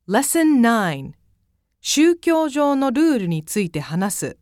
Lesson 9 宗教上のルールについて話す。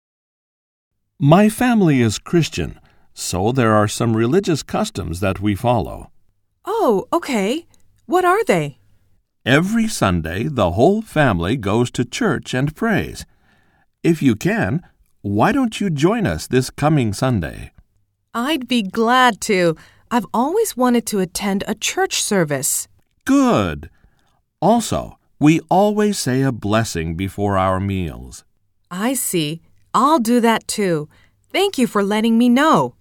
My family is Christian, so there are some religious customs that we follow. Oh, okay. What are they? Every Sunday, the whole family goes to church and prays. If you can, why don't you join us this coming Sunday? I'd be glad to. I've always wanted to attend a church service. Good. Also, we always say a blessing before our meals. I see. I'll do that too. Thank you for letting me know.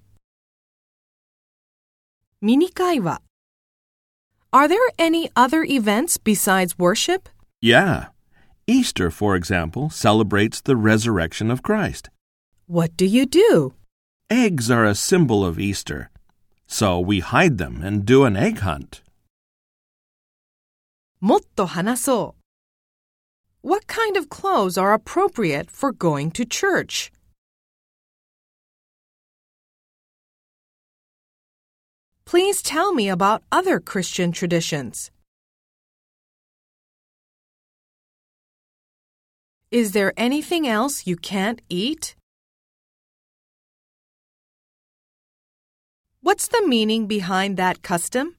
ミニ会話 Are there any other events besides worship? Yeah. Easter, for example, celebrates the resurrection of Christ. What do you do? Eggs are a symbol of Easter, so we hide them and do an egg hunt. もっと話そう。What kind of clothes are appropriate for going to church? Please tell me about other Christian traditions. Is there anything else you can't eat? What's the meaning behind that custom?